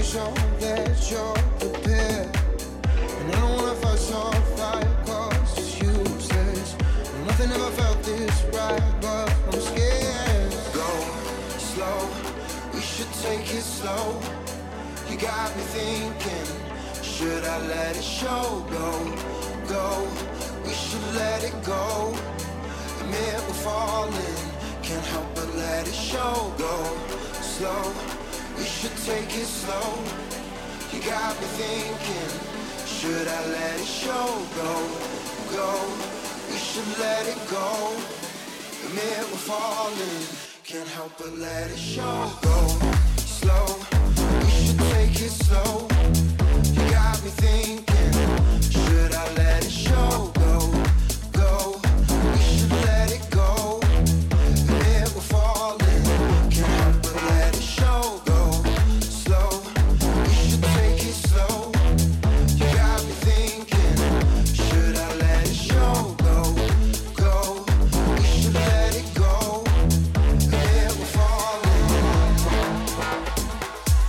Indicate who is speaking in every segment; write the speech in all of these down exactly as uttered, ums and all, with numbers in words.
Speaker 1: show that you're prepared. And I don't wanna fuss or fight, cause it's useless. Nothing ever felt this right, but I'm scared. Go slow, we should take it slow. You got me thinking, should I let it show? Go, go, we should let it go. Admit we're falling, can't help but let it show. Go slow, we should take it slow. You got me thinking, should I let it show? Go, go, we should let it go. Admit we're falling, can't help but let it show. Go slow, we should take it slow. You got me thinking, should I let it show? Go, go, we should let it go. Admit we're falling, can't help but let it show. Go slow, we should take it slow. You got me thinking, should I let it show? Go, go, we should let it go. Admit we're falling.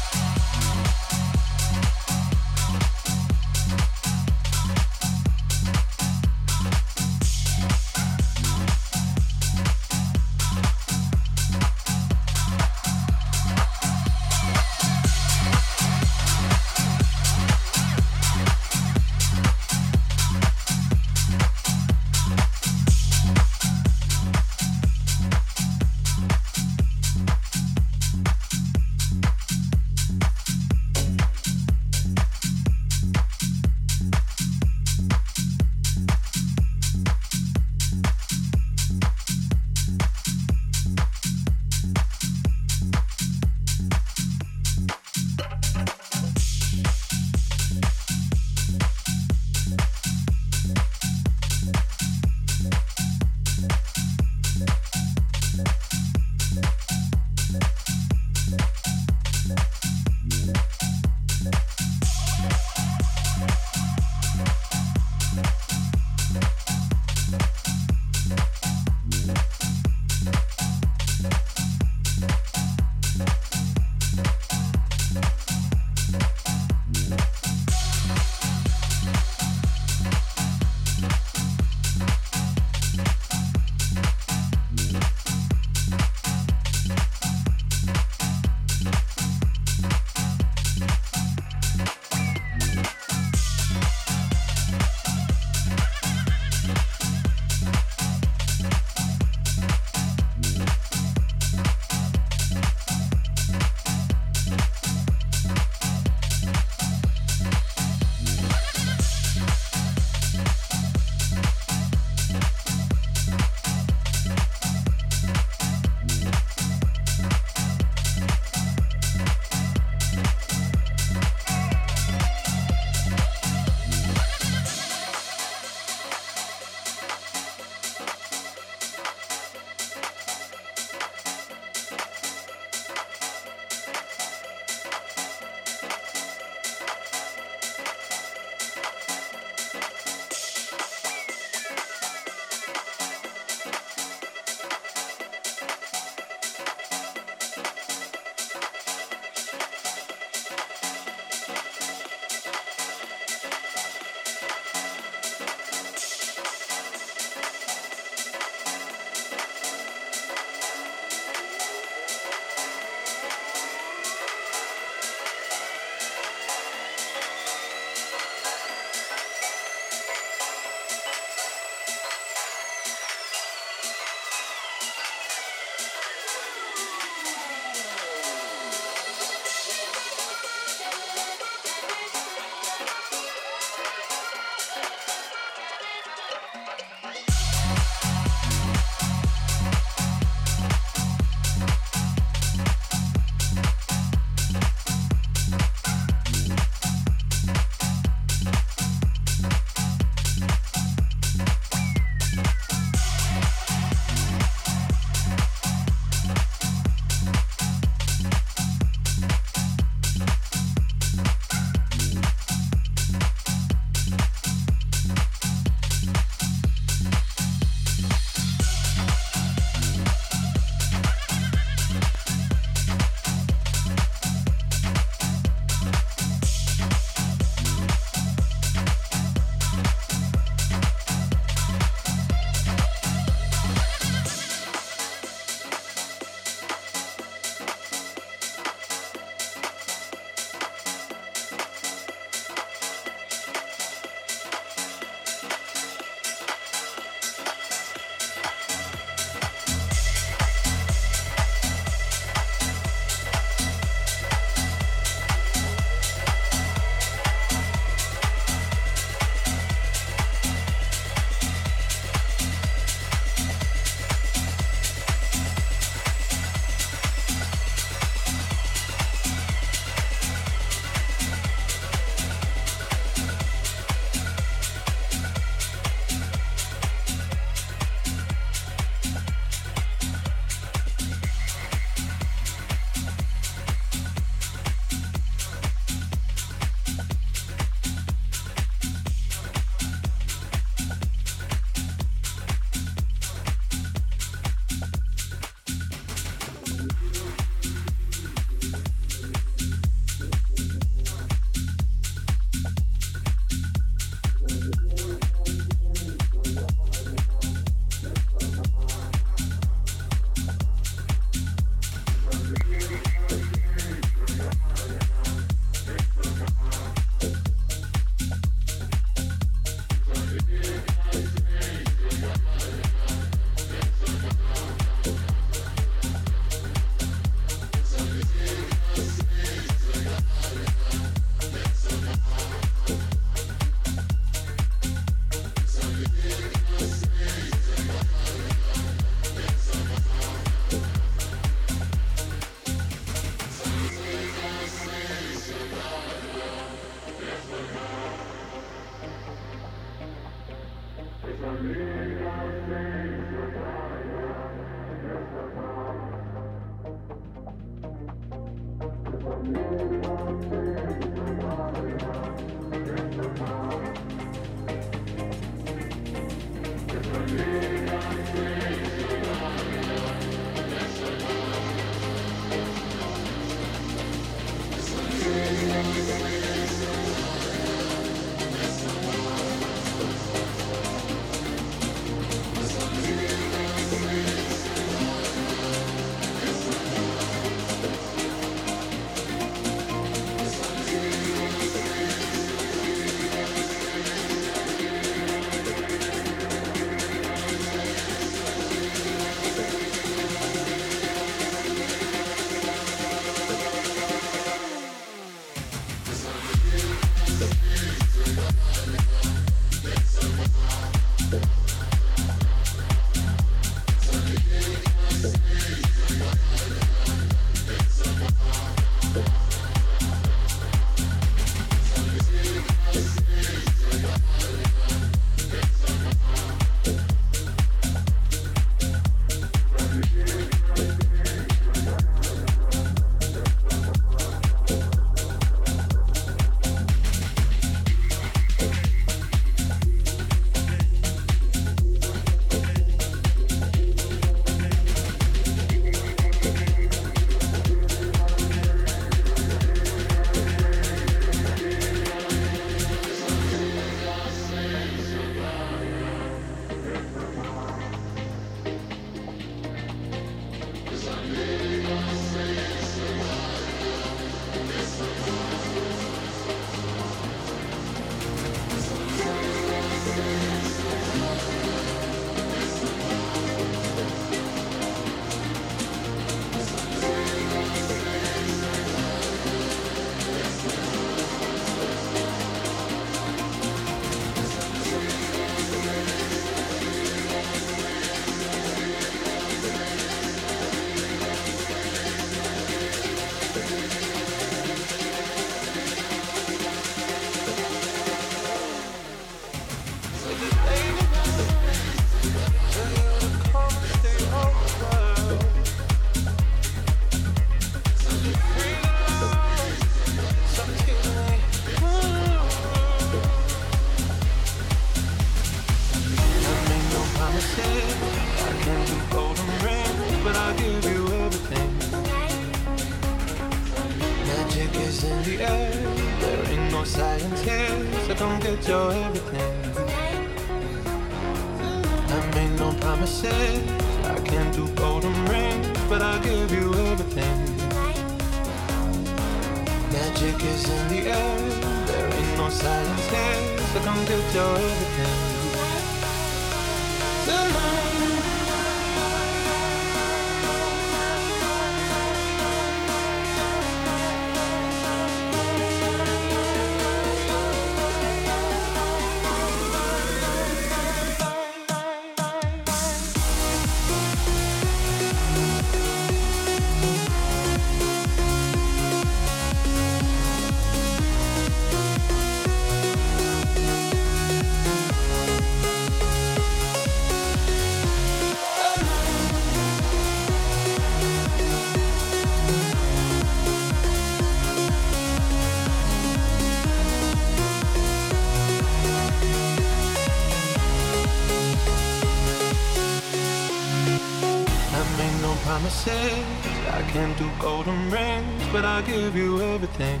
Speaker 2: promises. I can't do golden rings, but I'll give you everything.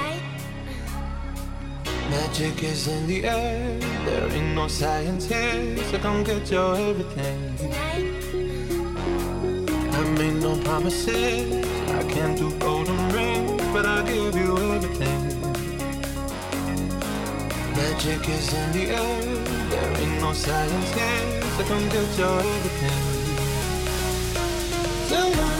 Speaker 2: Magic is in the air, there ain't no science here, so come get your everything. I made no promises, I can't do golden rings, but I'll give you everything. Magic is in the air, there ain't no science here, so come get your everything. Tonight.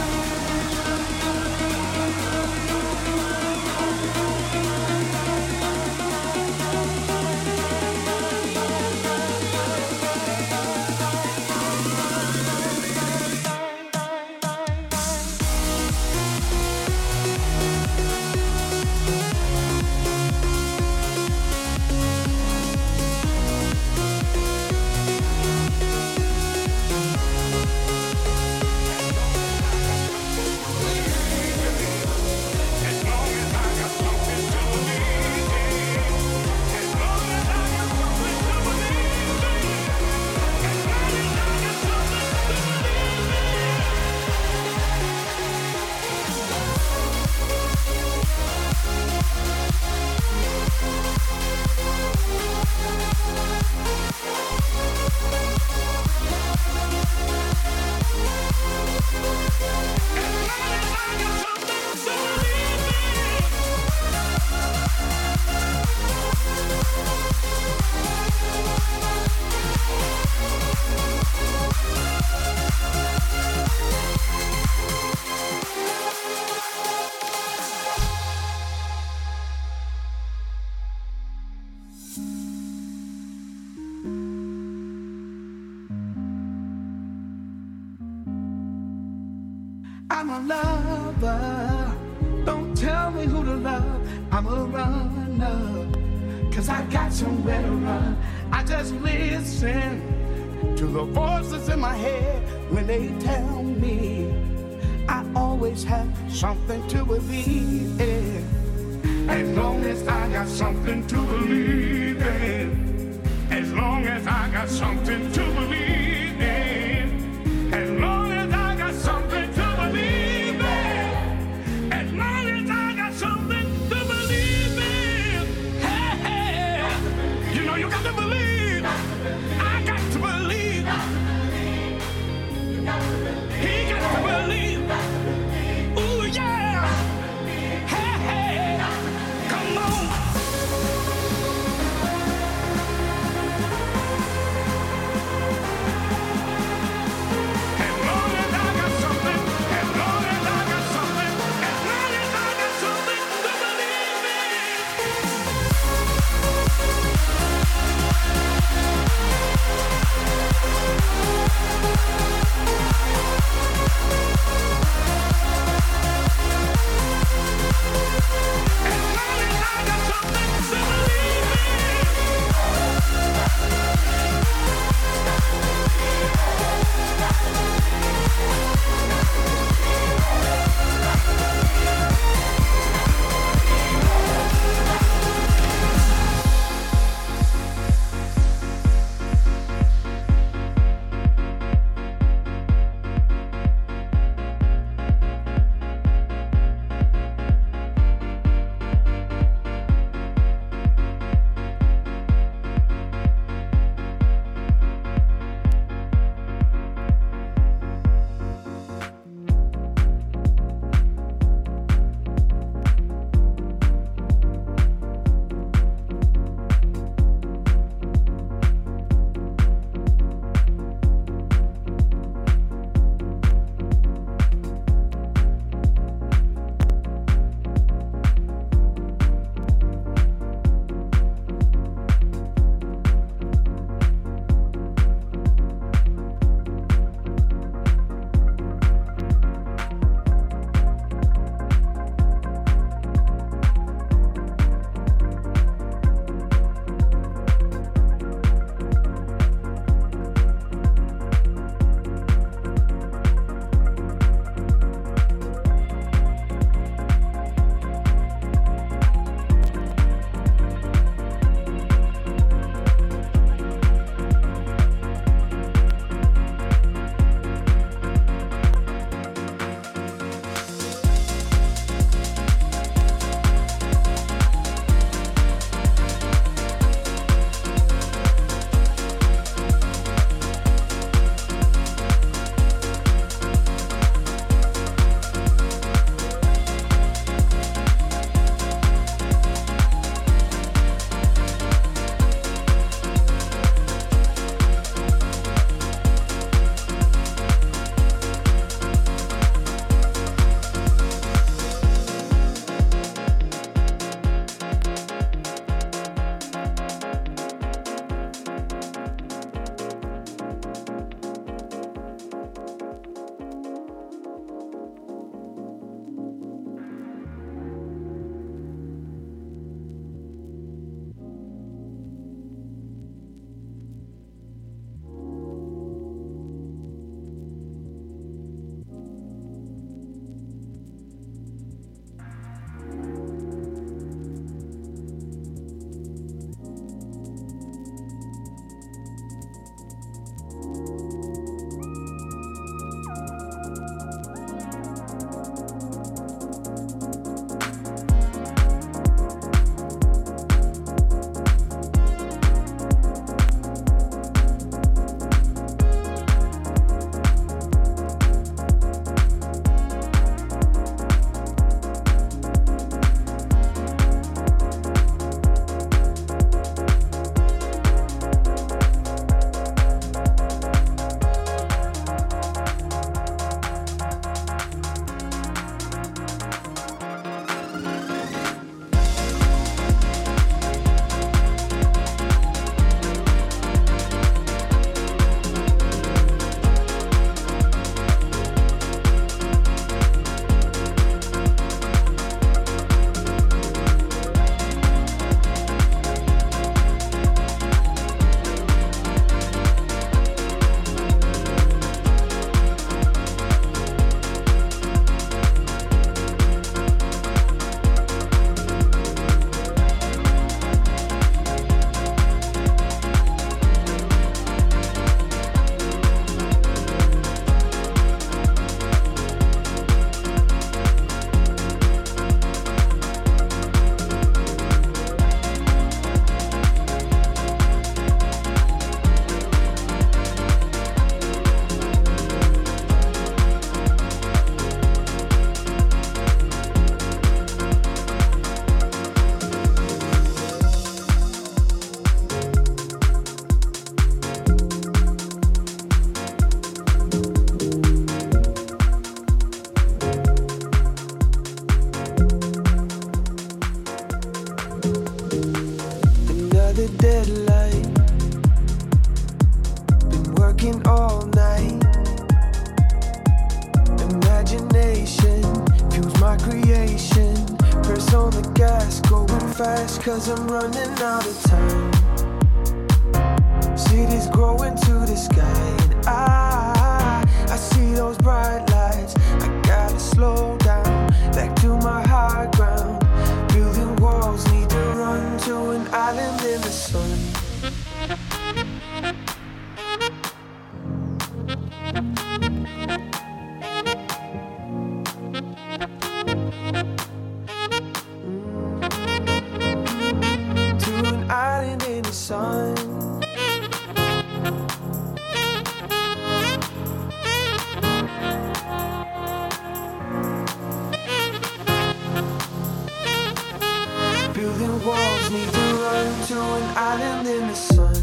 Speaker 3: I'm a lover. Don't tell me who to love. I'm a runner. Cause I got somewhere to run. I just listen to the voices in my head when they tell me I always have something to believe in. As long as I got something to believe in. As long as I got something to believe in. As long as I got something to believe in. As long as I got something to believe in. Hey, hey. You know you got to believe. I got to believe. He got to believe. Ooh, yeah. Hey, hey. Come on.
Speaker 4: fast cause I'm running out of time. Cities growing to the sky and I, I see those bright lights. I gotta slow down, back to my high ground. Building walls, need to run to an island in the sun. Sun. Building walls, need to run to an island in the sun.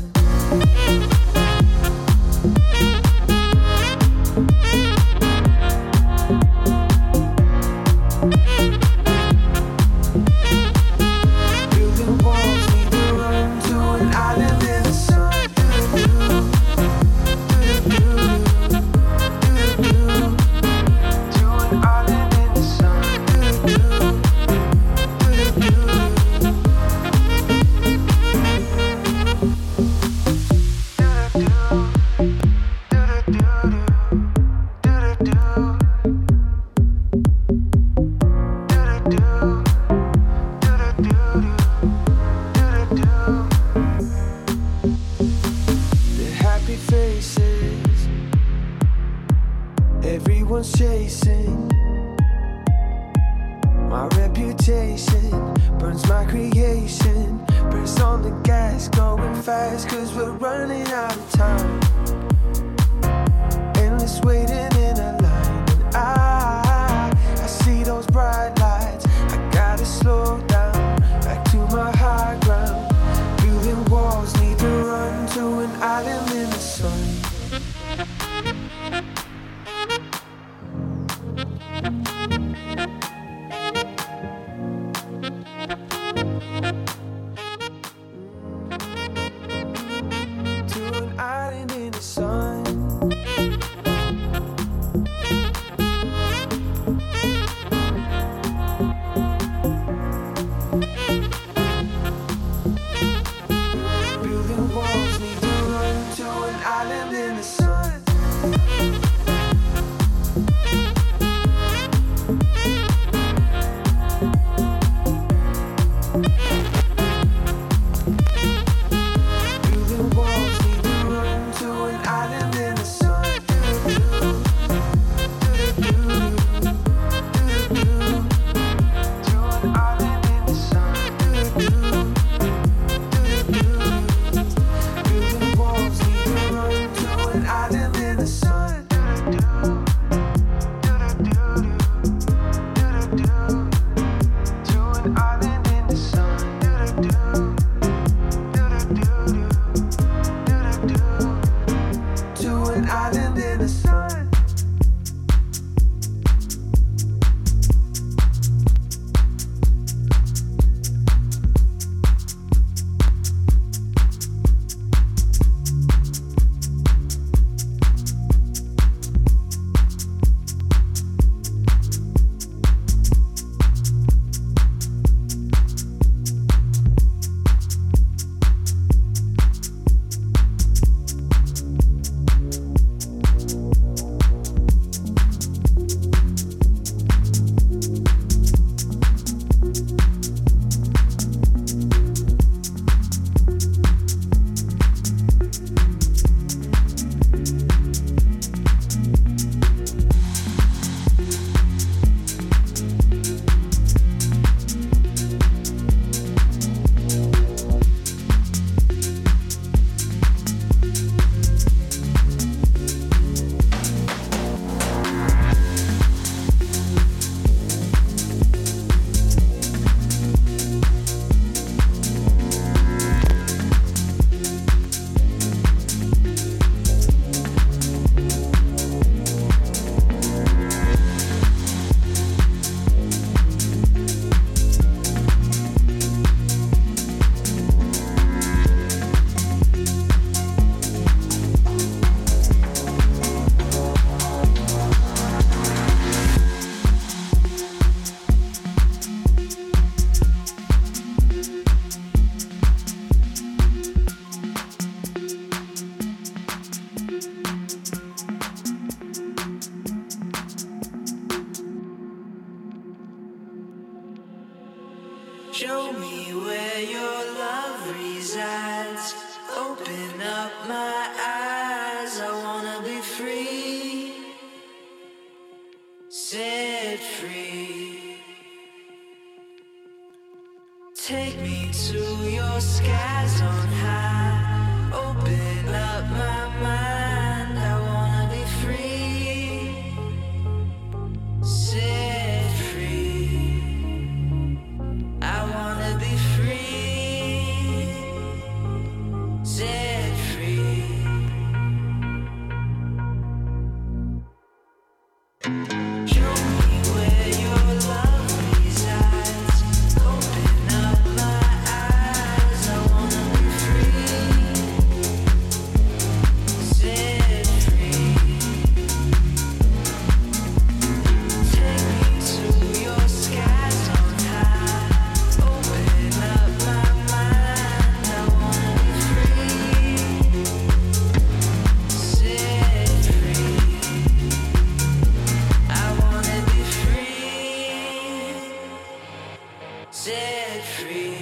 Speaker 4: Everyone's chasing my reputation, burns my creation, press on the gas, going fast cause we're running out of time. Endless waiting in a line and I, I see those bright lights. I gotta slow down, back to my high ground. Building walls, need to run to an island in the sun. To an island in the sun.
Speaker 5: Show me where your love resides. Open up my eyes. I wanna be free, set free. Take me to your skies on high. Open up my mind. I wanna be free, set free. I wanna be free, set free. Show me where your love resides. Open up my eyes. I wanna be free, set free. Take me to your skies on high. Open up my mind. I wanna be free, set free. I wanna be free, set free.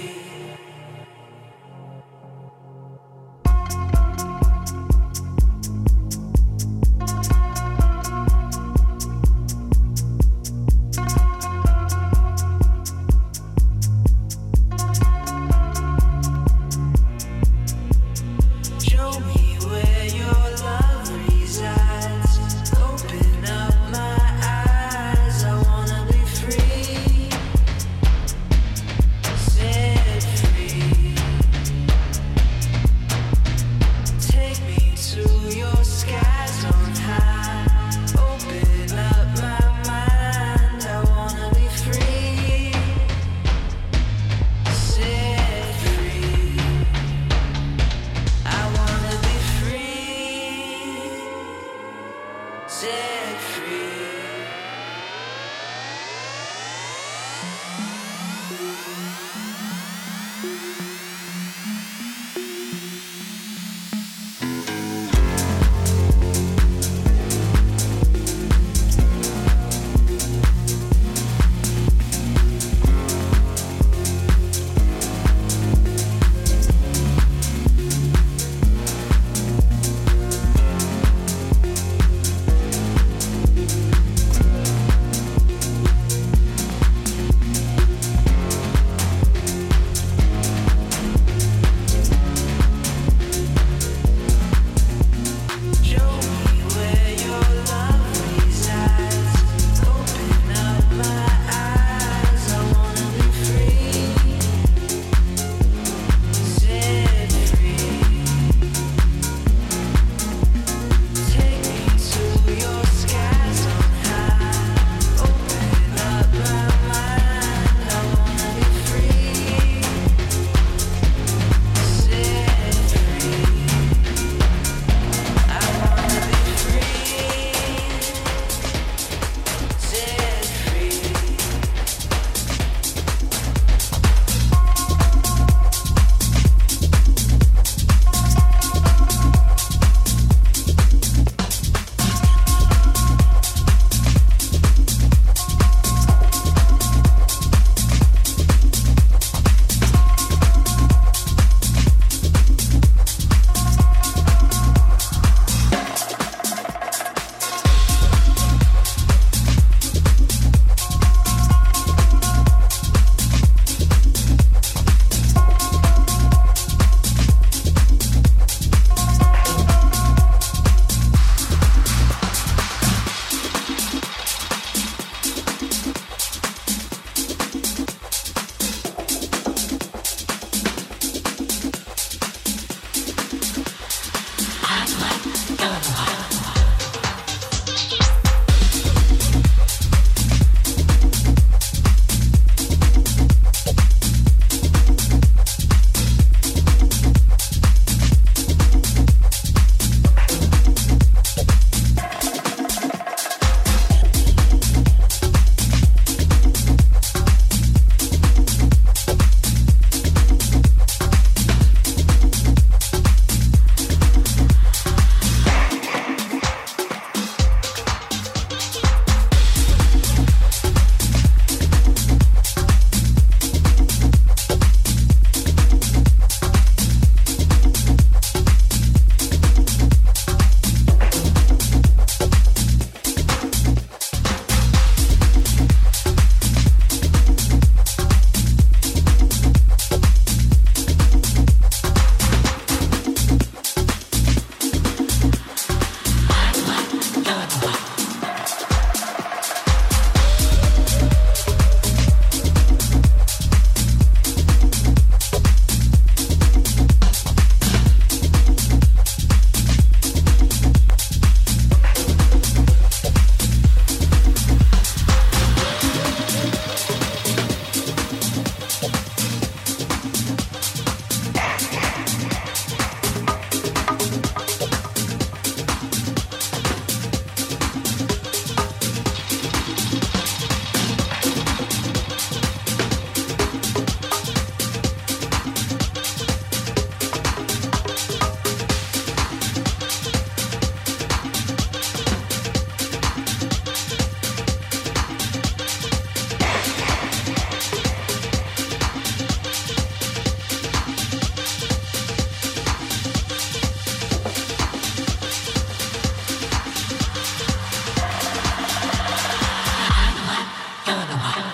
Speaker 5: Show me where your love resides. Open up my eyes. I wanna be free, set free. Take me to your skies on high. Open up my mind. I wanna be free, set free. I wanna be free, set free. Show me where your love resides. Open up my eyes. I wanna be free, set free. Take me to your skies on high. Open up my mind. I wanna be free, set free. I wanna be free, set free.
Speaker 6: Ghana.